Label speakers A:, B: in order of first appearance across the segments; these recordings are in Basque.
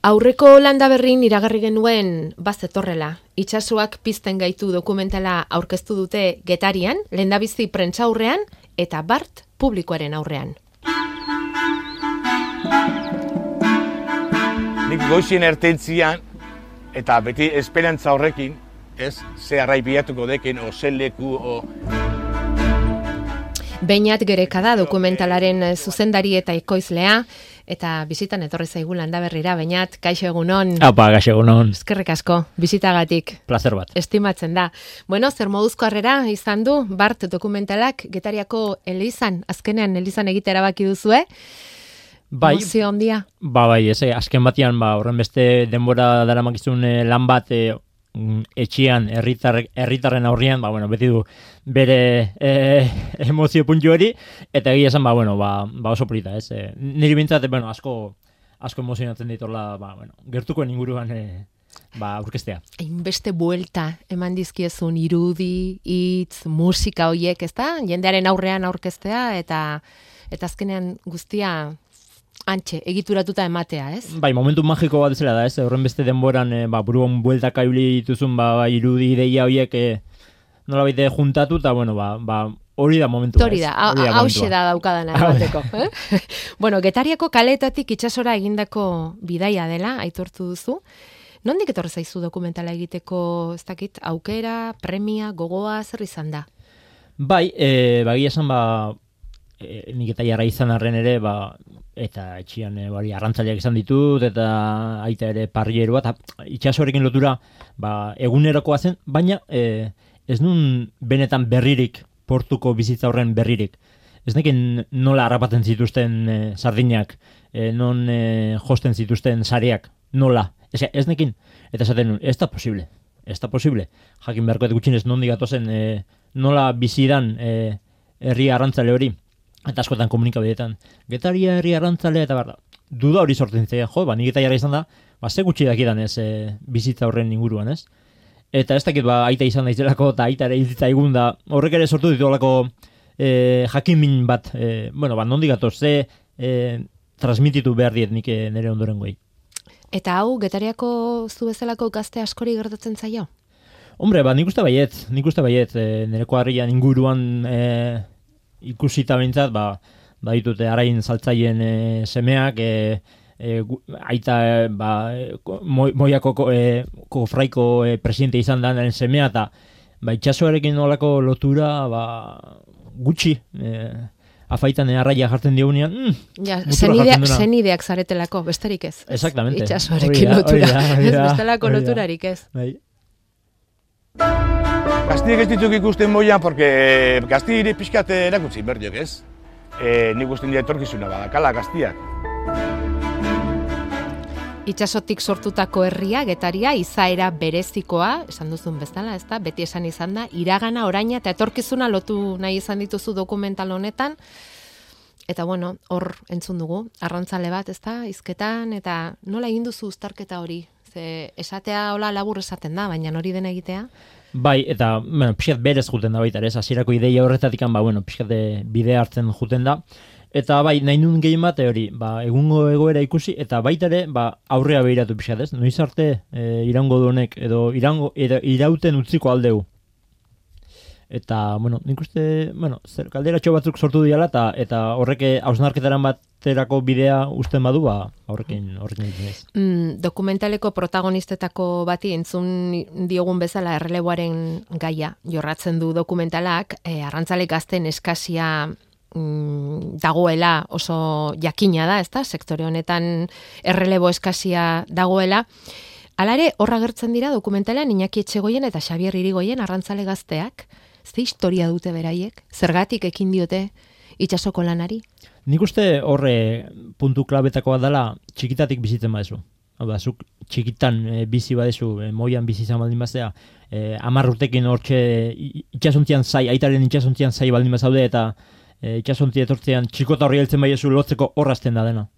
A: Aurreko landa berrin iragarri genuen bazetorrela. Itsasoak pizten gaitu dokumentala aurkeztu dute Getarian, lehendabizi prentsaurrean eta bart publikoaren aurrean.
B: Nik goizien ertentzian eta beti esperantza horrekin, ez, ze arrai bilatuko dekin, o ze leku, o...
A: Beñat Gereka da dokumentalaren zuzendari eta ekoizlea, eta bizitan etorri zaigu landa berrira, Beñat, kaixo egunon.
C: Apa, kaixo egunon.
A: Eskerrik asko, bizitagatik.
C: Plazer bat.
A: Estimatzen da. Bueno, zer moduzko harrera izan du, bart dokumentalak Getariako elizan, azkenean elizan egite erabaki duzue?
C: Bai,
A: emozio handia.
C: Bai, azken batean, horren beste denbora daramakizun lan bat etxean, herritarren aurrean, beti du bere emozio puntu hori, eta egia esan, oso polita, ez? Niri bintzat, asko emozionatzen ditorla, gertukoen inguruan aurkeztea.
A: Hainbeste buelta eman dizkiezun irudi, hitz, musika hoiek, ezta? Jendearen aurrean aurkeztea, eta azkenean guztia antxe, egituratuta ematea, ez?
C: Bai, momentu magiko bat zela da, ez? Horren beste denboran, buruan bueltak aibili dituzun, irudi ideia horiek nola baite juntatu, eta, hori da momentua,
A: ez? Hori da, hauxe da daukadana emateko. Bueno, Getariako kaleetatik itsasora egindako bidaia dela, aitortu duzu. Nondik etorri zaizu dokumentala egiteko, ez dakit, aukera, premia, gogoa, zer izan da?
C: Bai, bagia esan, nik eta jarra izan arren ere, eta etxian arrantzaleak izan ditut, eta aita ere parrieroa, eta itxasoarekin lotura egunerokoa zen, baina ez nun benetan berririk, portuko bizitza horren berririk. Ez nekin nola harrapatzen zituzten sardinak, non josten zituzten sareak, nola. Ez nekin, eta esaten nun, ez da posible. Jakin beharko gutxinez nondik gatozen nola bizidan herri arrantzale hori. Eta askotan komunikabideetan, Getaria herri arrantzale eta duda hori sortzen zitzaidan, nik eta jarra izan da, ze gutxi dakidan ez bizitza horren inguruan, ez? Eta ez dakit aita izan daizelako eta aita ere hiltzaigun da, horrek ere sortu ditolako jakinmin bat, nondik gatoz, ze transmititu behar diet nik nire ondoren goi.
A: Eta hau, Getariako zu bezalako gazte askori gertatzen zaio?
C: Hombre, nik uste baiet, nireko harrian inguruan ikusita behintzat, ditute arain saltzaien semeak, aita Moiako kofraiko presidente izan da semea, eta itxasoarekin olako lotura gutxi, afaitan arraia jartzen diogunean,
A: zenideak zaretelako, besterik ez.
C: Exactamente.
A: Itxasoarekin lotura, bestelako loturarik ez.
B: Gaztiek ez dituk ikusten moian, porque gaztiek pixkat erakutsi berdiok, ez? Nik usten dira etorkizuna badakala gaztiak.
A: Itxasotik sortutako herria, Getaria, izaera berezikoa, esan duzun bezala, ez da? Beti esan izan da, iragana, oraina eta etorkizuna lotu nahi izan dituzu dokumental honetan. Eta hor entzun dugu, arrantzale bat, ez da? Hizketan, eta nola egin duzu uztarketa hori? Ze esatea hola labur esaten da, baina hori dena egitea?
C: Bai, eta pixkat berez juten da baita, ez? Hasierako ideia horretatik, pixkat bidea hartzen juten da. Eta nahi nuen gehien bat, egungo egoera ikusi, eta baita ere, aurrea behiratu pixkat, ez? Noiz arte iraungo du honek, edo irauten utziko aldeu. Eta, nik uste, kalderatxo batzuk sortu diala, eta horrek hausnarketaran baterako bidea usten badu, horrekin ez.
A: Dokumentaleko protagonistetako bati entzun diogun bezala erreleboaren gaia jorratzen du dokumentalak, arrantzale gazten eskasia dagoela oso jakina da, ezta? Sektore honetan errelebo eskasia dagoela. Hala ere, horra gertzen dira dokumentalean Iñaki Etxegoien eta Xabier Irigoien arrantzale gazteak. Ze historia dute beraiek? Zergatik ekin diote itsasoko lanari?
C: Nik uste horre puntu klabetakoa dela txikitatik bizitzen badezu. Zuk txikitan bizi badezu, moian bizi izan baldin bazea, 10 urtekin hortxe itxasontzian zai, aitaren itxasontzian zai baldin bazaude, eta itxasontzi etortzean txikota horri heltzen baiezu lotzeko horrazten da dena.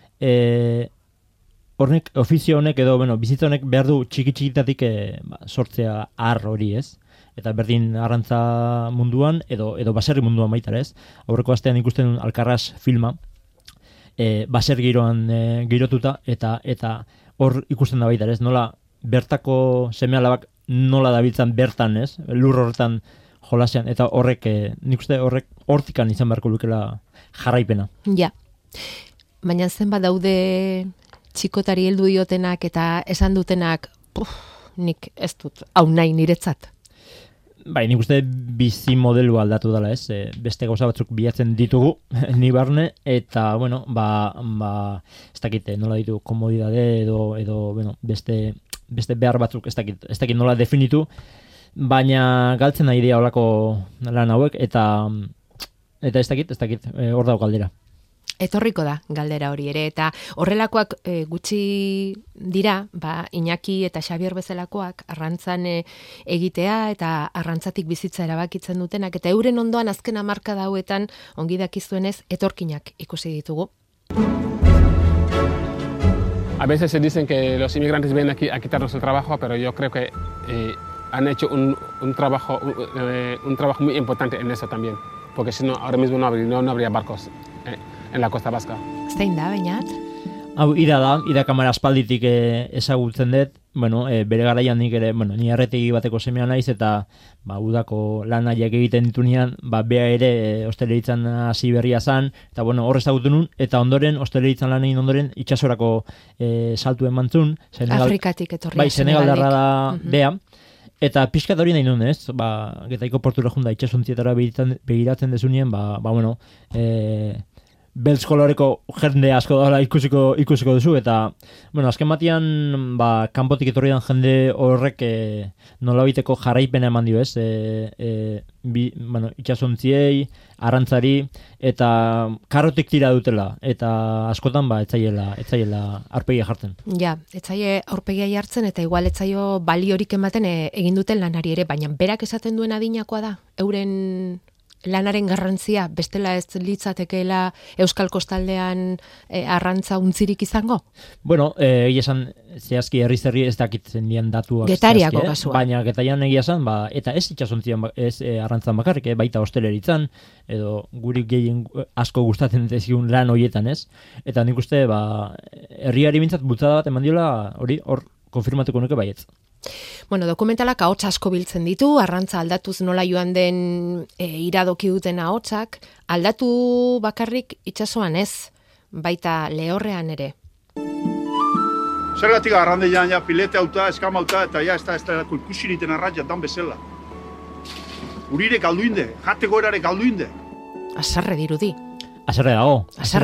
C: Hornek, ofizio honek edo bizitza honek behar du txikitatik sortzea har hori, ez? Eta berdin arrantza munduan edo baserri munduan baita, ez? Aurreko astean ikusten Alcarràs filma, baser giroan girotuta, eta hor ikusten da baita, ez? Nola bertako seme-alabak nola dabiltzan bertan, ez? Lur horretan jolasean, eta horrek, nik uste hortikan izan beharko lukela jarraipena.
A: Ja. Baina zenbat daude txikotari heldu diotenak eta esan dutenak, nik ez dut, hau nahi niretzat.
C: Bai, nik uste bizi modelu aldatu dela, ez? Beste gauza batzuk bilatzen ditugu, ni barne, eta, bueno, ez dakit, nola ditu komodidade edo bueno, beste behar batzuk ez dakit nola definitu, baina galtzen nahi dira holako lan hauek, eta ez dakit, hor dago galdera.
A: Etorriko da galdera hori ere, eta horrelakoak gutxi dira, Iñaki eta Xabier bezalakoak arrantzan egitea eta arrantzatik bizitza erabakitzen dutenak, eta euren ondoan azken hamarkada hauetan ongi dakizuenez etorkinak ikusi ditugu.
D: A veces se dicen que los inmigrantes vienen aquí a quitarnos el trabajo, pero yo creo que han hecho un trabajo muy importante en eso también, porque si no, ahora mismo no habría barcos en la costa vasca.
A: Zein da, Beñat?
C: Hau, ida kamara aspalditik ezagutzen dut, bueno, bere garaian nik ere, bueno, ni arretegi bateko semea naiz, eta udako lanaiak egiten ditunean, bea ere osteleritzan hasi berria zan, eta bueno, hor ezagutu nun, eta ondoren, osteleritzan lan egin ondoren, itxasorako saltu emantzun.
A: Afrikatik etorria.
C: Bai, Senegaldarra da bea, eta pixkat hori nahi nun, ez? Getaiko portura junda itxasontzietara begiratzen desunien, bueno, beltz koloreko jende asko dara ikusiko duzu, eta, bueno, azken batian, kanpotik etorri dan jende horrek nolabiteko jarraipena eman dio, ez? Bueno, itxasontziei, arrantzari, eta karrotik tira dutela, eta askotan, etzaiela aurpegia jartzen.
A: Ja, etzaile aurpegia jartzen, eta igual etzaio baliorik ematen egin duten lanari ere, baina berak esaten duen adinakoa da, euren lanaren garrantzia, bestela ez litzatekeela Euskal Kostaldean arrantza untzirik izango?
C: Bueno, egia esan, zehazki herri ez dakitzen dian datuak.
A: Getariako kasua.
C: Baina getarian egia esan, eta ez itxasontzian, ez arrantzan bakarrik, baita hosteleritzan, edo guri gehien asko gustatzen dezkigun lan horietan, ez? Eta nik uste, herriari bintzat bultzada bat eman diola, hor konfirmatuko nuke baietz.
A: Bueno, dokumentalak ahots asko biltzen ditu, arrantza aldatuz nola joan den iradoki duten ahotsak, aldatu bakarrik itsasoan ez, baita lehorrean ere.
B: Zergatik arrandeian pilete auta, eskamauta, eta ez da ikusiniten arrantzat dan bezala. Urire kalduinde, jateko erare kalduinde.
A: Azarre dirudi.
C: Azarre dago.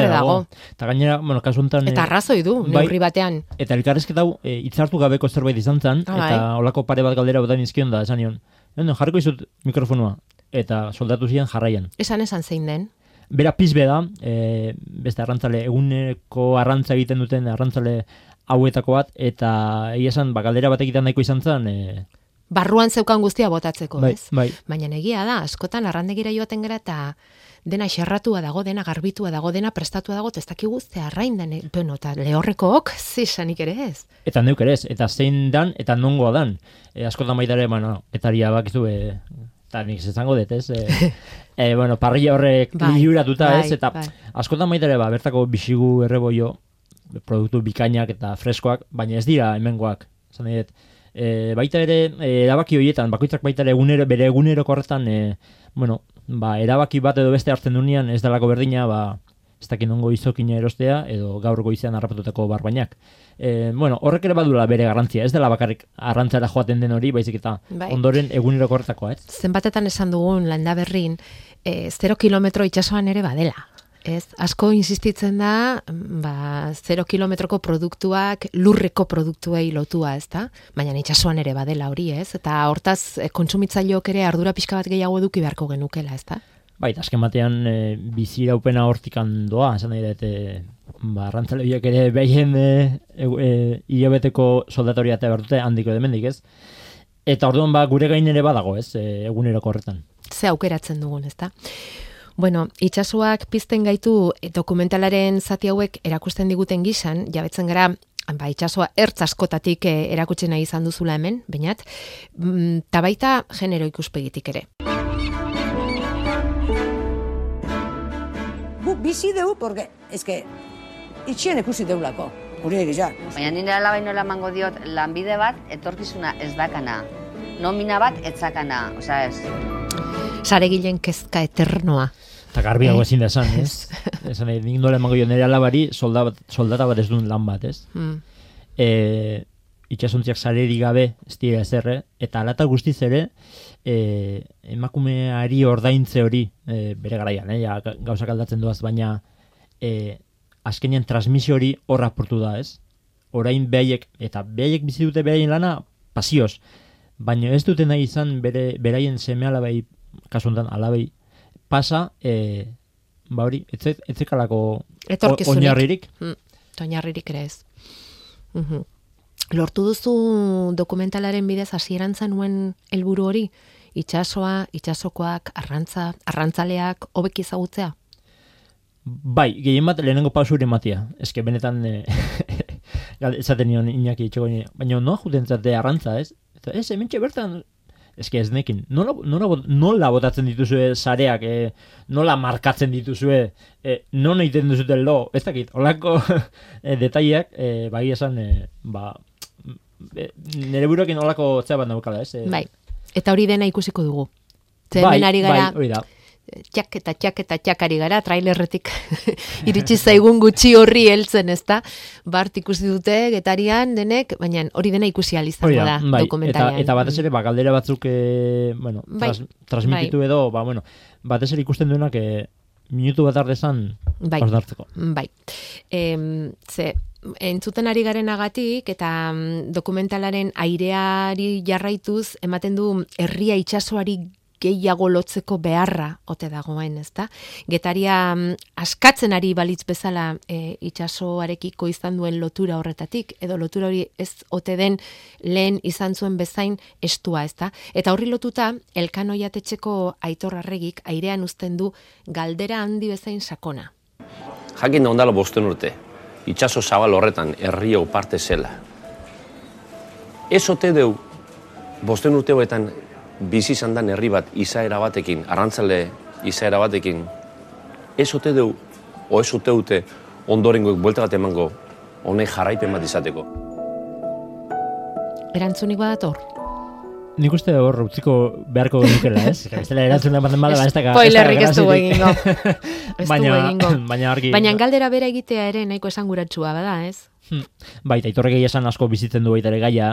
C: Eta gainera, bueno, kasu honetan...
A: Eta arrazoi du, neurri batean.
C: Eta elkarrezketa hau, hitzartu gabeko zerbait izan zen, eta holako pare bat galdera botan izkion da, esan nion. Jarriko izut mikrofonua, eta soldatu ziren jarraian.
A: Esan zein den?
C: Bera pizbe da, beste arrantzale, eguneko arrantza egiten duten arrantzale hauetako bat, eta esan, galdera bat egiten nahiko izan zen...
A: Barruan zeukan guztia botatzeko, ez?
C: Bai.
A: Baina egia da, askotan arrandegira joaten gara eta dena xerratua dago, dena garbitua dago, dena prestatua dago, ez dakigu arrain den, eta lehorrekook, zisanik ere ez.
C: Eta neuk ere ez, eta zein dan, eta nongoa dan. Askotan baitare, etaria bakizu, eta nik zezango dut, ez? Bueno, parrilla horrek liuratuta, ez? Eta askotan baitare, bertako bixigu erreboio, produktu bikainak eta freskoak, baina ez dira hemengoak, zan dut. Baita ere, erabaki horietan, bakoitzak baita ere bere eguneroko horretan, bueno, erabaki bat edo beste hartzen dunean, ez dalako berdina, ez dakit nongo izokina erostea, edo gaur goizean harrapatutako barbainak. Bueno, horrek ere badula bere garrantzia, ez dela bakarrik arrantzara joaten den hori, baizik eta ondoren eguneroko horretakoa, ez?
A: Zenbatetan esan dugun Landaberrin, 0 kilometro itsasoan ere badela. Ez, asko insistitzen da, 0 kilometroko produktuak lurreko produktuei lotua, ez da? Baina itsasoan ere badela hori, ez? Eta hortaz, kontsumitzaileok ere ardura pixka bat gehiago eduki beharko genukela, ez da?
C: Bai, azken batean biziraupena hortikan doa, esan nahi dut, arrantzale horiek ere behien hilabeteko soldatoria eta bertute handiko demendik, ez? Eta orduan gure gain ere badago, ez? Eguneroko horretan.
A: Ze aukeratzen dugun, ez da? Bueno, itsasoak pizten gaitu dokumentalaren zati hauek erakusten diguten gisan, jabetzen gara, itsasoa ertz askotatik erakutsi nahi izan duzula hemen, Beñat, eta baita genero ikuspegitik ere.
E: Guk bizi dugu, porque, itxien ikusi deulako. hori egizan.
F: Baina nire alabai nola emango diot lanbide bat etorkizuna ez dakana. Nomina bat etzakana, osea ez.
A: Saregilen kezka eternoa.
C: Eta garbiago ezin da esan, ez? Esan, nik nola emango jo nire alabari soldata bat ez duen lan bat, ez? Itxasontziak sarerik gabe ez dira ezerre, eta alata guztiz ere emakumeari ordaintze hori bere garaian, ja, gauzak aldatzen duaz, baina azkenean transmisio hori hor aportu da, ez? Orain behaiek bizi dute beraien lana pasioz, baina ez dute nahi izan beraien seme alabai, kasu honetan alabai, pasa, hori, etzekalako oinarririk.
A: Oinarririk ere ez. Lortu duzu dokumentalaren bidez hasieran zenuen helburu hori, itsasoa, itsasokoak, arrantzaleak hobeki ezagutzea?
C: Bai, gehien bat lehenengo pausu ere ematia. Eske benetan esaten nion Iñaki itxego, baina noa juten zate arrantza, ez? Eta ez, hementxe bertan, eske ez nekin, nola botatzen dituzue sareak, nola markatzen dituzue, non egiten duzuten lo, ez dakit, holako detaileak, bai esan, nire buruekin holako zea bat naukala, ez?
A: Bai, eta hori dena ikusiko dugu. Hemen ari gara,
C: hori da.
A: txak ari gara, trailerretik iritsi zaigun gutxi horri heltzen, ezta? Bart ikusi dute, Getarian, denek, baina hori dena ikusi izango da dokumentalean.
C: Eta batez ere, galdera batzuk, transmititu edo, batez ere ikusten duenak, minutu bat ardezan, osdartzeko.
A: Bai. Entzuten ari garenagatik eta dokumentalaren aireari jarraituz, ematen du herria itsasoari gehiago lotzeko beharra ote dagoen, ezta? Getaria askatzen ari balitz bezala itsasoarekiko izan duen lotura horretatik, edo lotura hori ez ote den lehen izan zuen bezain estua, ezta? Eta horri lotuta, Elkano Jatetxeko Aitor Arregik airean uzten du galdera handi bezain sakona.
G: Jakin da ondala 5 urte, itsaso zabal horretan herriau parte zela. Ez ote deu 5 urte hoetan bizi izan dan herri bat izaera batekin, arrantzale izaera batekin, ez ote deu, o ez ote dute ondorengoek buelta bat emango honek jarraipen bat izateko.
A: Erantzunik badator?
C: Nik uste hor utziko beharko nukela, ez? Bestela erantzuna ematen bada, ez dago.
A: Spoilerrik ez dugu egingo.
C: Baina argi.
A: Baina galdera bera egitea ere nahiko esanguratsua bada, ez?
C: Baita, Aitorrek esan asko bizitzen du baita ere gaia,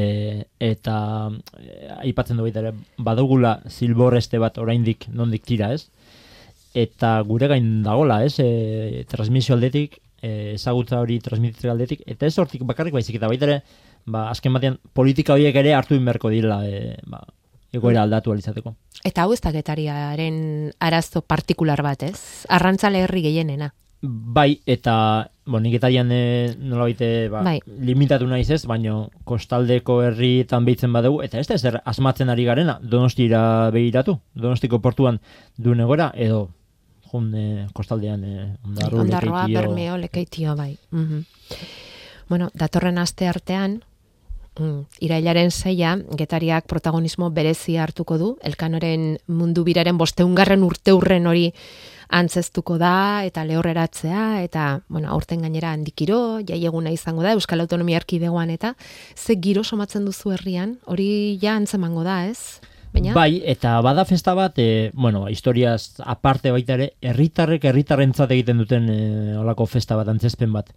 C: eta aipatzen du baita ere badugula zilborreste bat oraindik nondik tira, ez? Eta gure gain dagola, ez? Transmisio aldetik, ezagutza hori transmititzeko aldetik, eta ez hortik bakarrik baizik, eta baita ere, azken batean politika horiek ere hartu inberko dira, egoera aldatu alizateko.
A: Eta hau ez da Getariaren arazo partikular bat, ez? Arrantzale herri gehienena.
C: Bai, eta nik Getarian nola baite limitatu naiz ez, baina kostaldeko herrietan behitzen badugu, eta ez da ezer asmatzen ari garena, Donostira behiratu, Donostiko portuan duen egora, edo kostaldean
A: Ondarroa, Bermeo, Lekeitio, bai. Bueno, datorren aste artean, irailaren 6, Getariak protagonismo berezia hartuko du, Elkanoren mundu biraren 500. urteurren hori antzeztuko da, eta lehorreratzea, eta, aurten gainera handikiro, jaieguna izango da, Euskal Autonomia Erkidegoan, eta ze giro somatzen duzu herrian, hori ja antzemango da, ez? Baina?
C: Bai, eta bada festa bat, historiaz aparte baita ere, herritarrentzat egiten duten olako festa bat, antzezpen bat.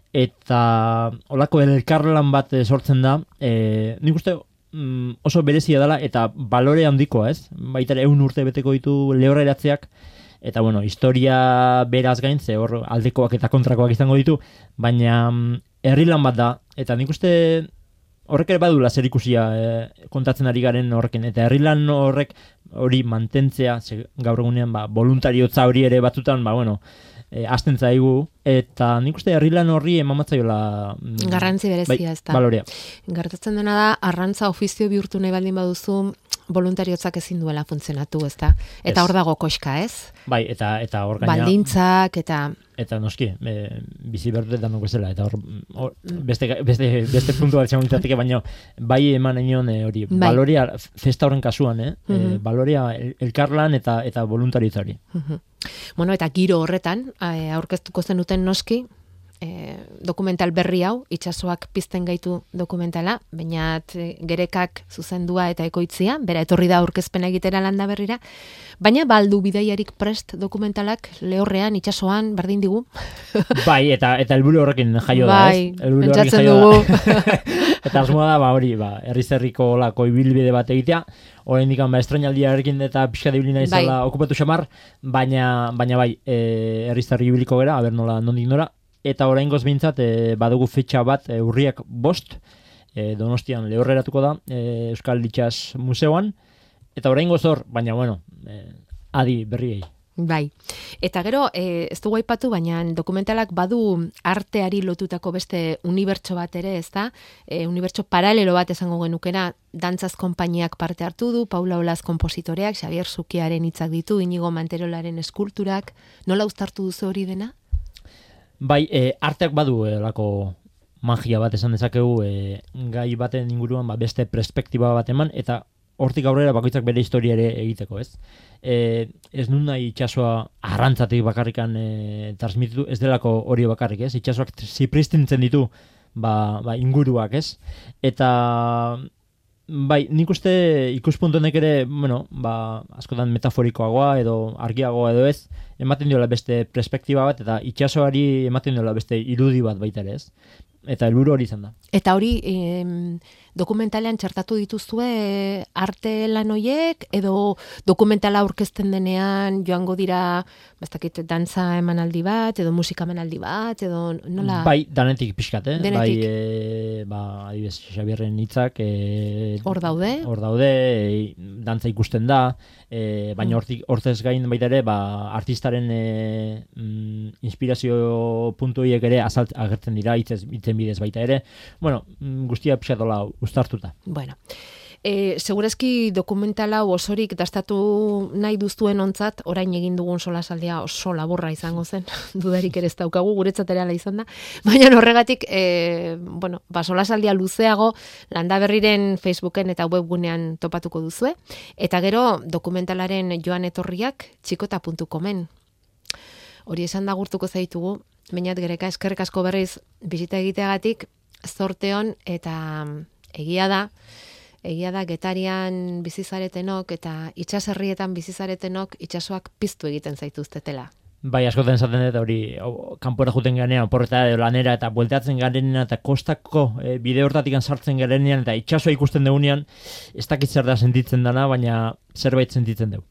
C: Eta olako elkarlan bat sortzen da, nik uste oso berezia dela, eta balore handikoa, ez? Baita ere 100 urte beteko ditu lehorreratzeak, eta historia beraz gain, ze hor aldekoak eta kontrakoak izango ditu, baina herrilan bat da, eta nik uste horrek ere badula zer ikusia kontatzen ari garen horrekin, eta herrilan horrek hori mantentzea, gaur egunean voluntariotza hori ere batzutan, hasten zaigu, eta nik uste herrilan horri emamatzaiola
A: garrantzi berezia, ez da.
C: Balorea.
A: Gertatzen dena da, arrantza ofizio bihurtu nahi baldin baduzu, voluntariotzak ezin duela funtzionatu, ez da? Eta hor dago koxka, ez?
C: Bai, eta hor gaina...
A: Baldintzak, eta...
C: Eta noski, bizi berdu danok bezala, eta hor beste puntu bat txamunitatik, baina bai eman enion hori, baloria, festa horren kasuan, baloria elkarlan eta voluntaritzari.
A: Bueno, eta giro horretan, aurkeztuko zenuten noski, dokumental berri hau, itsasoak pizten gaitu dokumentala, baina Gerekak zuzendua eta ekoitzia, bera etorri da aurkezpena egitera Landa Berrira, baina baldu bidaiarik prest dokumentalak lehorrean, itsasoan, berdin digu.
C: Bai, eta helburu horrekin jaio da, ez?
A: Pentsatzen dugu.
C: Eta asmoa da, hori, herriz-herriko olako ibilbide bat egitea, oraindik estrainaldiarekin eta pixka de ibilina izala okupatu xamar, baina bai, herriz-herri ibiliko gera, aber nola, nondik nora, eta oraingoz behintzat badugu fetxa bat urriak 5, Donostian lehorreratuko da, Euskal Itsas Museoan, eta oraingoz hor, baina bueno, adi berriei.
A: Bai, eta gero, ez dugu aipatu, baina dokumentalak badu arteari lotutako beste unibertso bat ere, ez da? Unibertso paralelo bat esango genukena, dantzaz konpainiak parte hartu du, Paula Olaz kompositoreak, Xavier Zukiaren hitzak ditu, Inigo Manterolaren eskulturak, nola uztartu duzu hori dena?
C: Bai, arteak badu lako magia bat esan dezakegu, gai baten inguruan beste perspektiba bat eman, eta hortik aurrera bakoitzak bere historia ere egiteko, ez? Ez nun nahi itsasoa arrantzatik bakarrikan transmititu, ez delako hori bakarrik, ez? Itsasoak zipristintzen ditu inguruak, ez? Eta bai, nik uste ikuspuntu honek ere, bueno, askotan metaforikoagoa edo argiagoa edo ez, ematen diola beste perspektiba bat, eta itsasoari ematen diola beste irudi bat baita ere, ez? Eta helburu hori izan da. Eta
A: hori dokumentalean txertatu dituzue arte lan hoiek, edo dokumentala aurkezten denean joango dira, bastakit, dantza emanaldi bat, edo musika emanaldi bat, edo nola? Bai,
C: danetik pixkat,
A: Denetik.
C: Bai, adibidez, Xabierren hitzak
A: hor daude,
C: dantza ikusten da, baina hortez gain baita ere, artistaren inspirazio puntu horiek ere agertzen dira, hitzen bidez baita ere. Bueno, guztia pixatola uztartuta.
A: Bueno, segurazki dokumentala osorik dastatu nahi duztuen ontzat, orain egin dugun solasaldia oso laburra izango zen, dudarik ere ez daukagu, guretzat ere ala izan da, baina horregatik, solasaldia luzeago Landa Berriren Facebooken eta webgunean topatuko duzue, eta gero dokumentalaren joan etorriak txikota.comen. Hori esan da gurtuko zaitugu, bainat Gereka, eskerrik asko berriz bisita egiteagatik, zorteon eta egia da Getarian bizizaretenok eta itsaserrietan bizizaretenok itsasoak piztu egiten zaituztetela.
C: Bai, askotan esaten dut hori kanpora joeten garenean, oporreta edo lanera eta bueltatzen garenean eta kostako bide hortatik sartzen garenean eta itsasoa ikusten dugunean, ez dakit zer da sentitzen dana, baina zerbait sentitzen dugu.